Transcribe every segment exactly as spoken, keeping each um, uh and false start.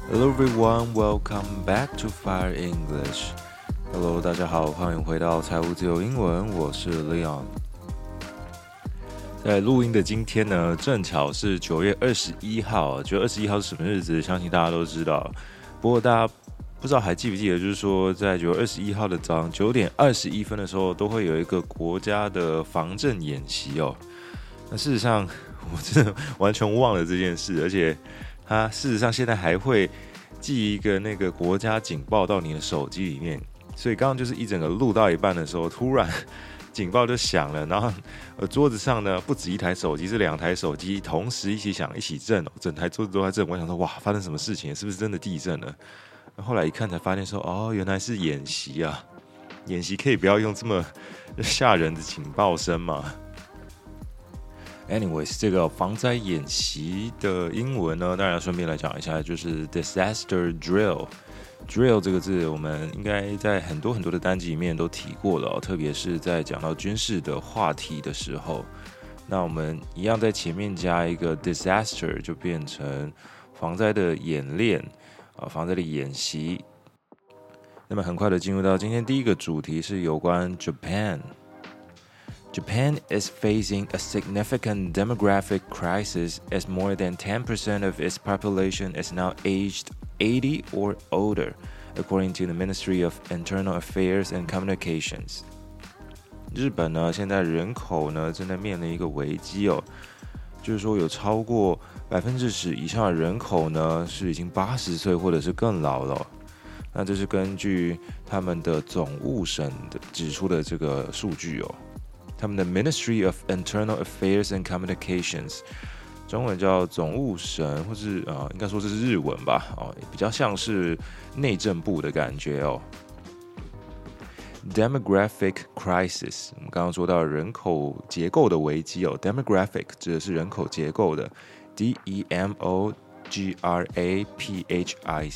Hello everyone, welcome back to Fire English. Hello， 大家好，歡迎回到財務自由英文，我是 Leon。在錄音的今天呢，正巧是九月二十一號。九月二十一號是什麼日子？相信大家都知道。不過大家不知道還記不記得，就是說在九月二十一號的早上九點二十一分的時候，都會有一個國家的防震演習哦。那事實上，我真的完全忘了這件事，而且它事實上現在還會寄一個那個國家警報到你的手機裡面，所以剛剛就是一整個錄到一半的時候，突然警報就響了，然後呃桌子上呢不止一台手機，是兩台手機同時一起響一起震哦，整台桌子都在震。我想說哇，發生什麼事情？是不是真的地震了？後來一看才發現說哦，原來是演習啊！演習可以不要用這麼嚇人的警報聲嗎？Anyways， 這個防災演習的英文呢，當然要順便來講一下，就是 disaster drill。drill 這個字，我們應該在很多很多的單集裡面都提過了哦，特別是在講到軍事的話題的時候。那我們一樣在前面加一個 disaster， 就變成防災的演練啊，防災的演習。那麼很快的進入到今天第一個主題，是有關 Japan。Japan is facing a significant demographic crisis as more than ten percent of its population is now aged eighty or older, according to the Ministry of Internal Affairs and Communications. 日本呢，現在人口呢正在面臨一個危機哦，就是說有超過百分之十以上的人口呢是已經八十歲或者是更老了哦。那這是根據他們的總務省的指出的這個數據哦。他們的 Ministry of Internal Affairs and Communications， 中文叫總務省，或是啊、呃，應該說這是日文吧，哦，比較像是內政部的感覺哦。Demographic crisis， 我們剛剛說到人口結構的危機哦。Demographic 指的是人口結構的 ，D E M O G R A P H I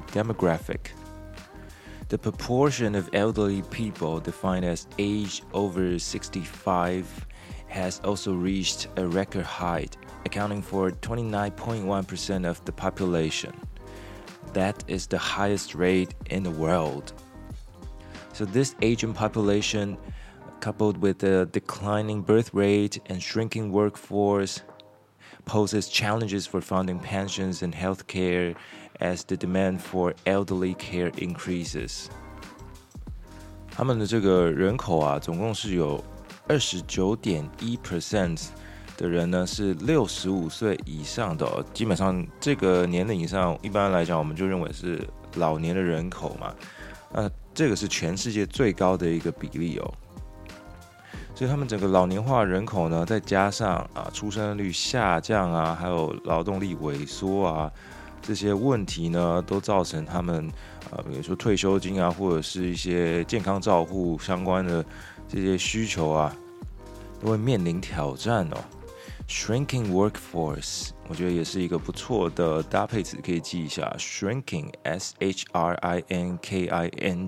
C，Demographic。The proportion of elderly people defined as age over sixty-five has also reached a record height, accounting for twenty-nine point one percent of the population. That is the highest rate in the world. So this aging population, coupled with a declining birth rate and shrinking workforce, poses challenges for funding pensions and health care as the demand for elderly care increases. 他們的這個人口啊，總共是有 二十九點一 percent 的人呢是六十五歲以上的哦。基本上這個年齡以上，一般來講我們就認為是老年的人口嘛。那這個是全世界最高的一個比例哦。所以他們整個老年化人口呢，再加上啊出生率下降啊，還有勞動力萎縮啊，這些問題呢，都造成他們啊，比如說退休金啊，或者是一些健康照護相關的這些需求啊，都會面臨挑戰哦。Shrinking workforce， 我覺得也是一個不錯的搭配詞，可以記一下。Shrinking S H R I N K I N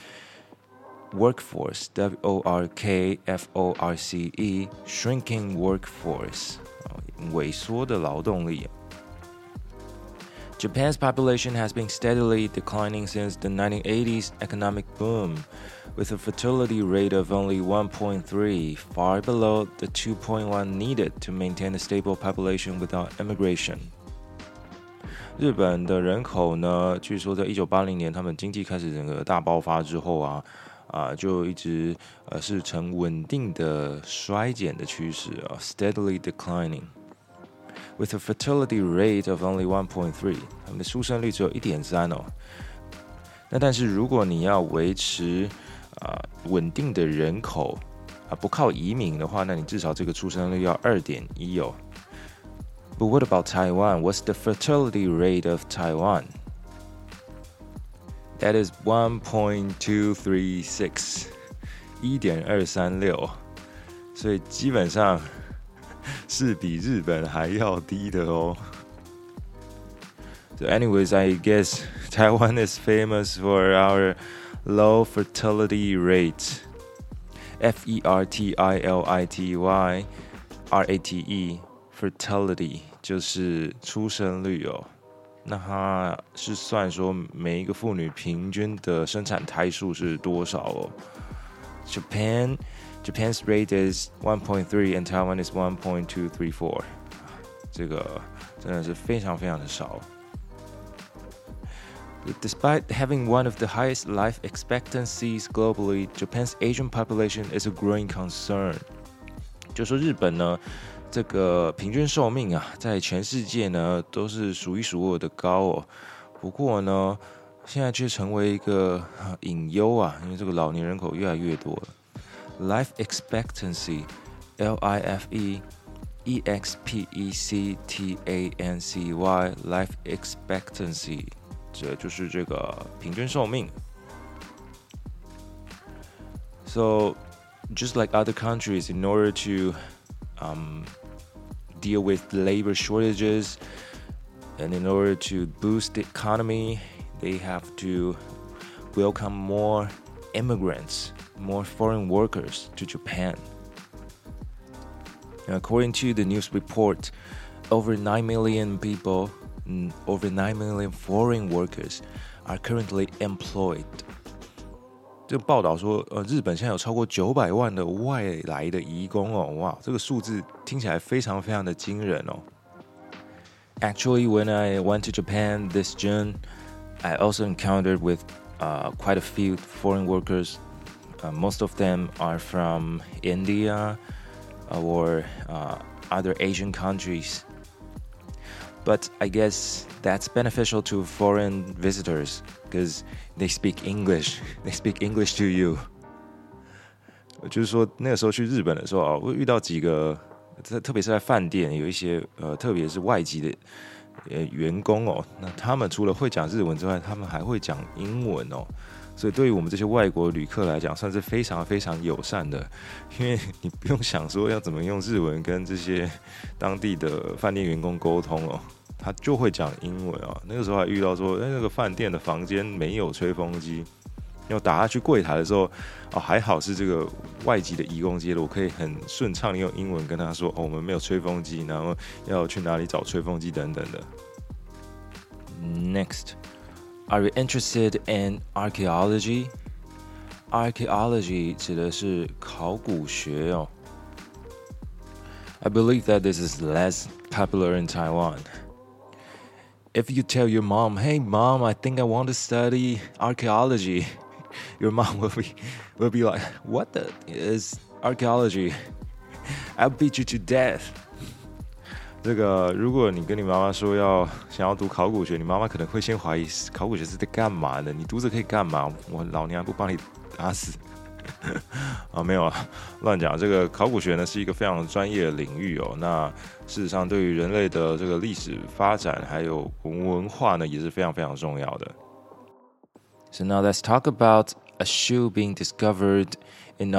G。Workforce, W O R K F O R C E, shrinking workforce, 萎縮的勞動力。Japan's population has been steadily declining since the nineteen eighties economic boom, with a fertility rate of only one point three, far below the two point one needed to maintain a stable population without immigration. 日本的人口呢，據說在一九八零年他們經濟開始整個大爆發之後啊。啊，就一直呃是呈穩定的衰減的趨勢啊 ，steadily declining, with a fertility rate of only one point three， 他們的出生率只有一點三哦。那但是如果你要維持啊穩定的人口啊，不靠移民的話，那你至少這個出生率要二點一哦。But what about Taiwan? What's the fertility rate of Taiwan?That is one point two three six， 一點二三六，所以基本上是比日本還要低的哦。So anyways, I guess Taiwan is famous for our low fertility rate. F E R T I L I T Y R A T E fertility 就是出生率哦。 那它是算說每一個婦女平均的生產胎數是多少哦。Japan, Japan's rate is one point three and Taiwan is one point two three four. 這個真的是非常非常的少。Despite having one of the highest life expectancies globally, Japan's aging population is a growing concern. 就說日本呢，這個平均壽命啊，在全世界呢都是數一數二的高哦。不過呢，現在卻成為一個隱憂啊，因為這個老年人口越來越多了。Life expectancy, L I F E E X P E C T A N C Y, life expectancy。这就是这个平均寿命。So, just like other countries, in order to um, deal with labor shortages and in order to boost the economy, they have to welcome more immigrants, more foreign workers to Japan. And according to the news report, over nine million people.Over nine million foreign workers are currently employed. 這個報道說，呃，日本現在有超過九百萬的外來的移工哦，哇，這個數字聽起來非常非常的驚人哦。Actually, when I went to Japan this June, I also encountered with uh, quite a few foreign workers. Uh, most of them are from India or uh, other Asian countries.But I guess that's beneficial to foreign visitors because they speak English. They speak English to you. 就是說，那個時候去日本的時候啊，我遇到幾個，特別是在飯店，有一些呃，特別是外籍的呃員工哦，那他們除了會講日文之外，他們還會講英文哦。所以對於我們這些外國旅客來講，算是非常非常友善的，因為你不用想說要怎麼用日文跟這些當地的飯店員工溝通哦，他就會講英文哦。那個時候還遇到說，哎，那個飯店的房間沒有吹風機，要打下去櫃檯的時候，哦，還好是這個外籍的移工接的，我可以很順暢的用英文跟他說，哦，我們沒有吹風機，然後要去哪裡找吹風機等等的。Next.Are you interested in archaeology? Archaeology 指的是考古學哦。I believe that this is less popular in Taiwan. If you tell your mom, "Hey mom, I think I want to study archaeology," your mom will be will be like, "What the is archaeology? I'll beat you to death." 這個，如果你跟你媽媽說要想要讀考古學，你媽媽可能會先懷疑考古學是在幹嘛的？你讀着可以幹嘛？我老娘不幫你打死啊！沒有啊，亂講。這個考古學呢是一個非常專業的領域哦。那事實上，對於人類的這個歷史發展還有文化呢，也是非常非常重要的。So now let's talk about a shoe being discovered in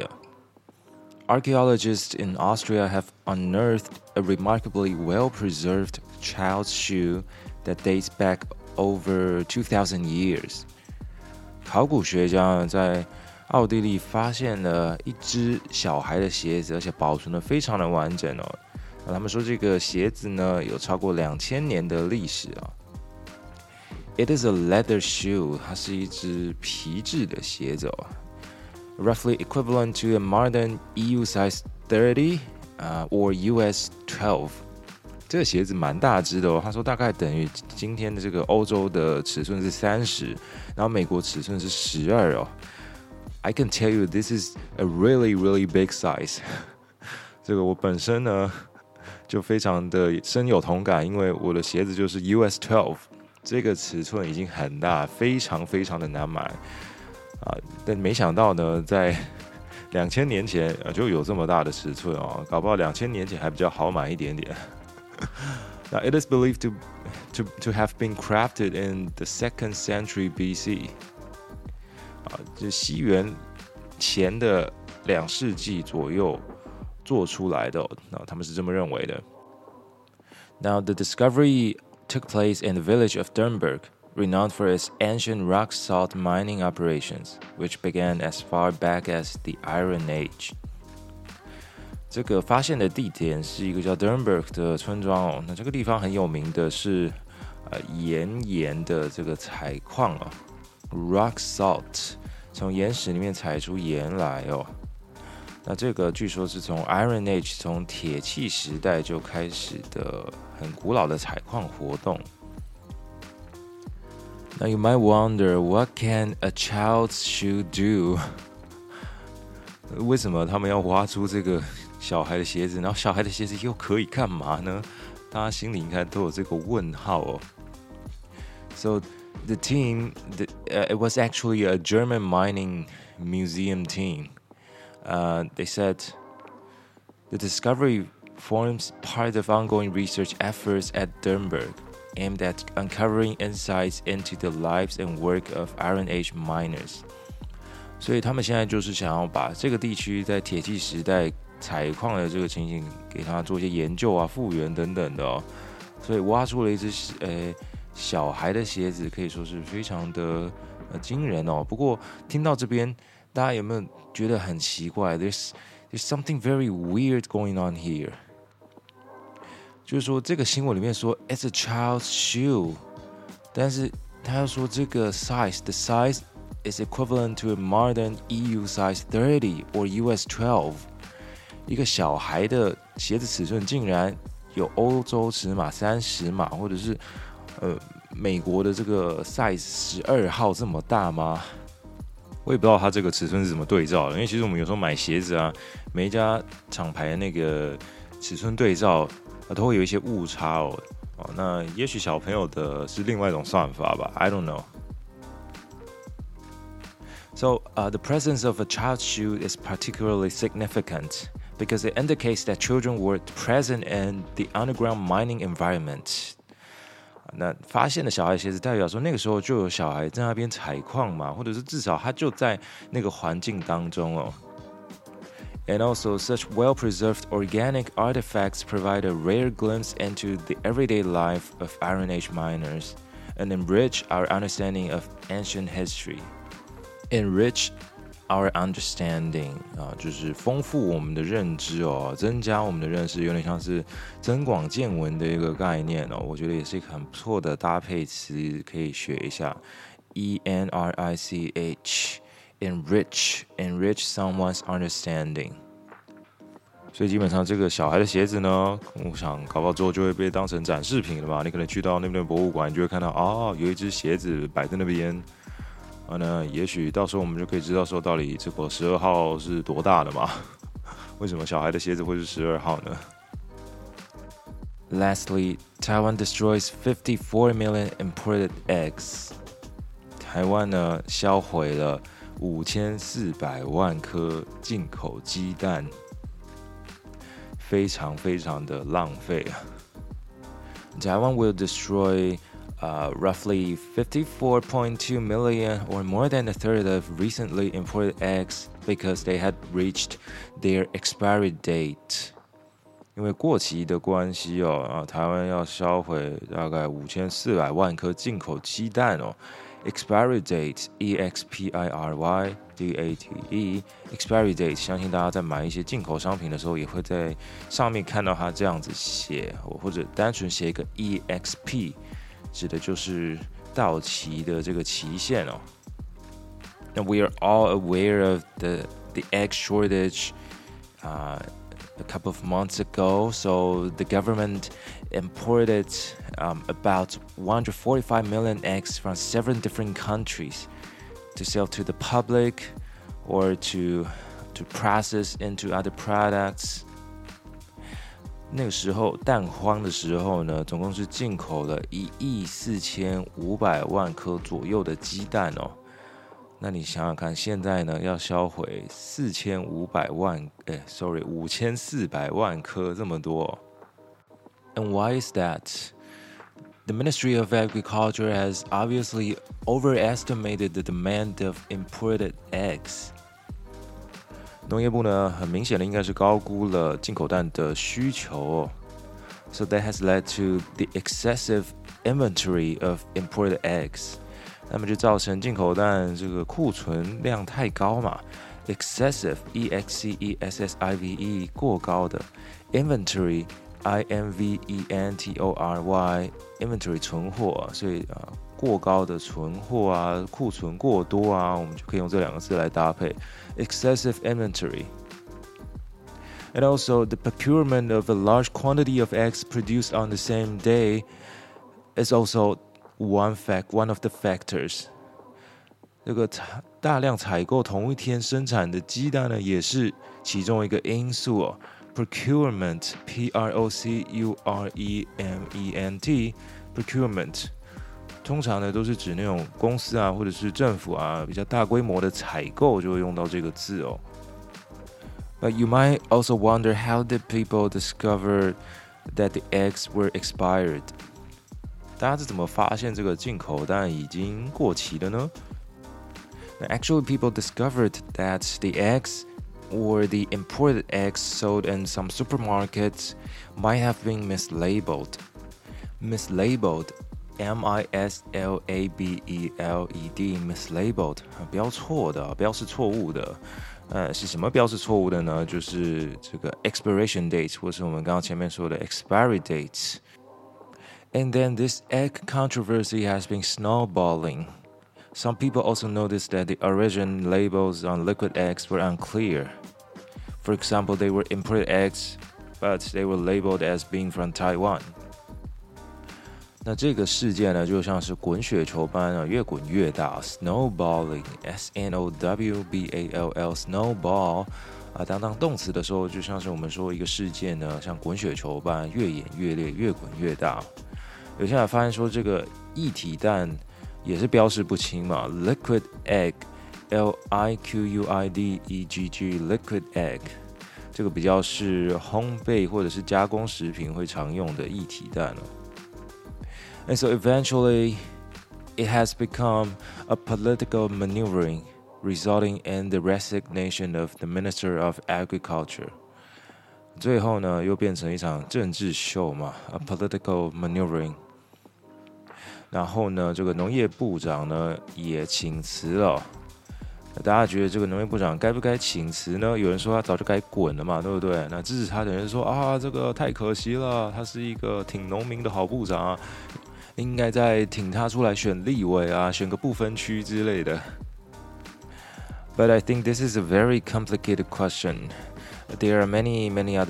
Austria.Archaeologists in Austria have unearthed a remarkably well-preserved child's shoe that dates back over two thousand years. 考古學家呢在奧地利發現了一隻小孩的鞋子，而且保存得非常的完整哦。那他們說這個鞋子呢有超過兩千年的歷史啊。It is a leather shoe， 它是一隻皮質的鞋子哦。Roughly equivalent to a modern E U size thirty, uh, or U S twelve. 這個鞋子蠻大隻的哦，他說大概等於今天的這個歐洲的尺寸是三十，然後美國尺寸是十二哦。I can tell you this is a really, really big size. 這個我本身呢就非常的深有同感，因為我的鞋子就是 U S twelve， 這個尺寸已經很大，非常非常的難買。啊，但沒想到呢，在兩千年前就有這麼大的尺寸哦，搞不好兩千年前還比較好買一點點。Now it is believed to to to have been crafted in the second century B C. 啊，就西元前的兩世紀左右做出來的哦，那他們是這麼認為的。Now the discovery took place in the village of Dernburg.Renowned for its ancient rock salt mining operations, which began as far back as the Iron Age. 這個發現的地點是一個叫 Dernburg 的村莊哦。那這個地方很有名的是， 呃岩鹽的這個採礦哦 ，rock salt， 從岩石裡面採出鹽來哦。那這個據說是從 Iron Age， 從鐵器時代就開始的很古老的採礦活動。Now you might wonder, what can a child's shoe do? 為什麼他們要挖出這個小孩的鞋子？然後小孩的鞋子又可以幹嘛呢？大家心裡應該都有這個問號哦。So the team, the, uh, it was actually a German mining museum team. Uh, they said the discovery forms part of ongoing research efforts at Dürnberg, aimed at uncovering insights into the lives and work of Iron Age miners. 所以他們现在就是想要把這個地區在鐵器時代採礦的這個情形，給他做一些研究啊、復原等等的哦。所以挖出了一隻呃小孩的鞋子，可以說是非常的呃驚人哦。不過聽到這邊，大家有沒有覺得很奇怪 ？There's there's something very weird going on here。就是說，這個新聞裡面說 "It's a child's shoe"， 但是他要說這個 size，the size is equivalent to a modern E U size thirty or U S twelve。一個小孩的鞋子尺寸竟然有歐洲尺碼三十碼，或者是呃美國的這個 size 十二號這麼大嗎？我也不知道它這個尺寸是怎麼對照的，因為其實我們有時候買鞋子啊，每一家廠牌的那個尺寸對照，啊，都會有一些誤差哦。哦，那也許小朋友的是另外一種算法吧 ，I don't know. So, uh, the presence of a child's shoe is particularly significant because it indicates that children were present in the underground mining environment. 那發現的小孩的鞋子，代表說那個時候就有小孩在那邊採礦嘛，或者是至少他就在那個環境當中哦。And also, such well-preserved organic artifacts provide a rare glimpse into the everyday life of Iron Age miners and enrich our understanding of ancient history. Enrich our understanding 啊，就是豐富我們的認知哦，增加我們的認識，有點像是增廣見聞的一個概念哦。我覺得也是一個很不錯的搭配詞，可以學一下。E N R I C H Enrich Enrich someone's understanding。所以基本上這個小孩的鞋子呢，我想搞不好之後就會被當成展示品了吧？你可能去到那邊的博物館，你就會看到哦，有一隻鞋子擺在那邊。啊，那也許到時候我們就可以知道說，到底這個十二號是多大的嘛？為什麼小孩的鞋子會是十二號呢？ Lastly, Taiwan destroys fifty-four million imported eggs. 台灣呢銷毀了五千四百萬顆進口雞蛋，非常非常的浪費啊。Taiwan will destroy Uh, roughly fifty-four point two million, or more than a third of recently imported eggs, because they had reached their expiry date. 因為過期的關係哦，啊，台灣要銷毀大概五千四百萬顆進口雞蛋哦。Expiry date, E X P I R Y D A T E, expiry date， 相信大家在買一些進口商品的時候，也會在上面看到它這樣子寫，或者單純寫一個 E X P。指的就是到期的這個期限哦。And we are all aware of the the egg shortage uh, a couple of months ago. So the government imported um, about one hundred forty-five million eggs from seven different countries to sell to the public or to to process into other products. 那個時候蛋荒的時候呢，總共是進口了一億四千五百萬顆左右的雞蛋哦。那你想想看，現在呢要銷毀四千五百萬，哎 ，sorry， 五千四百萬顆這麼多哦。And why is that? The Ministry of Agriculture has obviously overestimated the demand of imported eggs. 農業部呢，很明顯的應該是高估了進口蛋的需求哦。So that has led to the excessive inventory of imported eggs. 那麼就造成進口蛋這個庫存量太高嘛。Excessive, E X C E S S I V E 過高的 inventory I N V E N T O R Y inventory 存貨，所以啊過高的存貨啊，庫存過多啊，我們就可以用這兩個字來搭配 excessive inventory。And also the procurement of a large quantity of eggs produced on the same day is also one fact, one of the factors。這個大量採購同一天生產的雞蛋呢，也是其中一個因素哦。Procurement, P R O C U R E M E N T, procurement， 通常呢都是指那種公司啊，或者是政府啊比較大規模的採購，就會用到這個字哦。But you might also wonder how did people discover that the eggs were expired？ 大家是怎麼發現這個進口蛋已經過期了呢？ Actually, people discovered that the eggs or the imported eggs sold in some supermarkets might have been mislabeled. Mislabeled, M I S L A B E L E D, mislabeled， 標錯的，標示錯誤的。呃，是什麼標示錯誤的呢？就是這個 expiration date， 或是我們剛剛前面說的 expiry dates。And then this egg controversy has been snowballing.Some people also noticed that the origin labels on liquid eggs were unclear. For example, they were imported eggs, but they were labeled as being from Taiwan. 那這個事件呢，就像是滾雪球般啊，越滾越大 ，snowballing, S N O W B A L L, snowball 啊，當當動詞的時候，就像是我們說一個事件呢，像滾雪球般越演越烈，越滾越大。有些人發現說，這個液體蛋也是標示不清嘛 ，liquid egg, L I Q U I D E G G, liquid egg， 這個比較是烘焙或者是加工食品會常用的液體蛋哦。And so eventually, it has become a political maneuvering, resulting in the resignation of the Minister of Agriculture. 最後呢，又變成一場政治秀嘛 ，a political maneuvering。然後呢，這個農業部長呢也請辭了。大家覺得這個農業部長該不該請辭呢？有人說他早就該滾了嘛，對不對？那支持他的人說啊，這個太可惜了，他是一個挺農民的好部長啊，應該再挺他出來選立委啊，選個不分區之類的。But I think this is a very complicated question. There are many, many other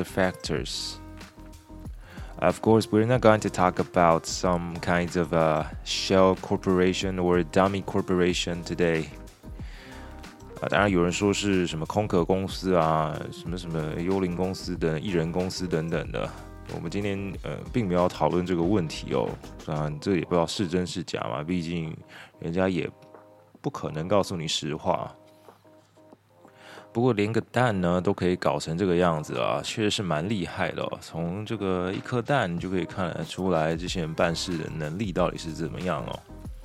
factors.Of course, we're not going to talk about some kinds of a shell corporation or dummy corporation today. 啊，當然有人說是什麼空殼公司啊，什麼什麼幽靈公司等、藝人公司等等的。我們今天呃並沒有討論這個問題哦，當然這也不知道是真是假嘛，畢竟人家也不可能告訴你實話。不過連個蛋呢都可以搞成這個樣子啊，確實是蠻厲害的哦。從這個一顆蛋你就可以看得出來，這些人辦事的能力到底是怎麼樣哦。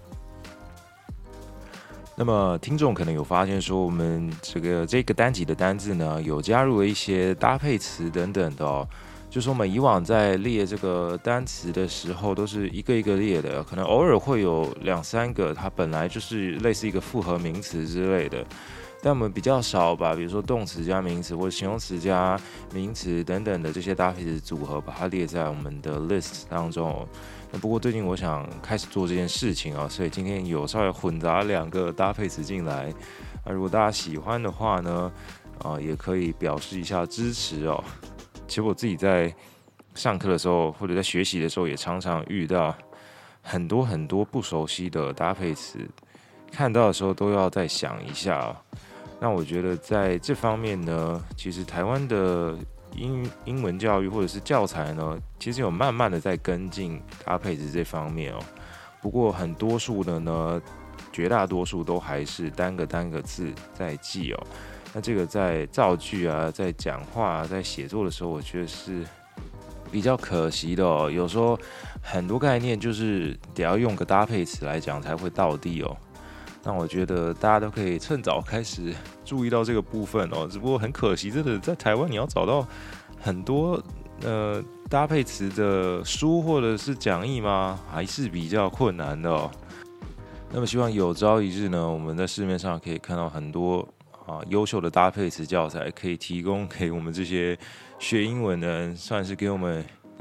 那麼聽眾可能有發現說，我們這個這個單集的單字呢，有加入了一些搭配詞等等的哦。就是我們以往在列這個單詞的時候，都是一個一個列的，可能偶爾會有兩三個，它本來就是類似一個複合名詞之類的。但我們比較少把，比如說動詞加名詞或者形容詞加名詞等等的這些搭配詞組合，把它列在我們的 list 當中。那不過最近我想開始做這件事情啊，所以今天有稍微混雜兩個搭配詞進來。啊，如果大家喜歡的話呢，啊，也可以表示一下支持哦。其實我自己在上課的時候或者在學習的時候，也常常遇到很多很多不熟悉的搭配詞，看到的時候都要再想一下哦。那我覺得在這方面呢，其實台灣的英英文教育或者是教材呢，其實有慢慢的在跟進搭配詞這方面哦。不過很多數的呢，絕大多數都還是單個單個字在記哦。那這個在造句啊，在講話啊，在寫作的時候，我覺得是比較可惜的哦。有時候很多概念就是得要用個搭配詞來講才會到地哦。那我覺得大家都可以趁早開始注意到這個部分哦。只不過很可惜，真的在台灣你要找到很多呃搭配詞的書或者是講義嗎？還是比較困難的哦。那麼希望有朝一日呢，我們在市面上可以看到很多啊優秀的搭配詞教材，可以提供給我們這些學英文的人，算是給我們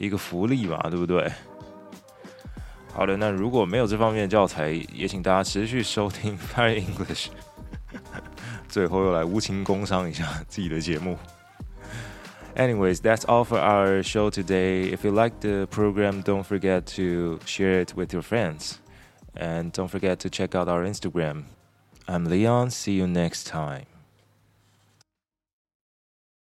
一個福利嘛，對不對？好的，那如果沒有這方面的教材，也請大家持續收聽 Fire English。最後又來無情工商一下自己的節目。Anyways, that's all for our show today. If you like the program, don't forget to share it with your friends. And don't forget to check out our Instagram. I'm Leon. See you next time.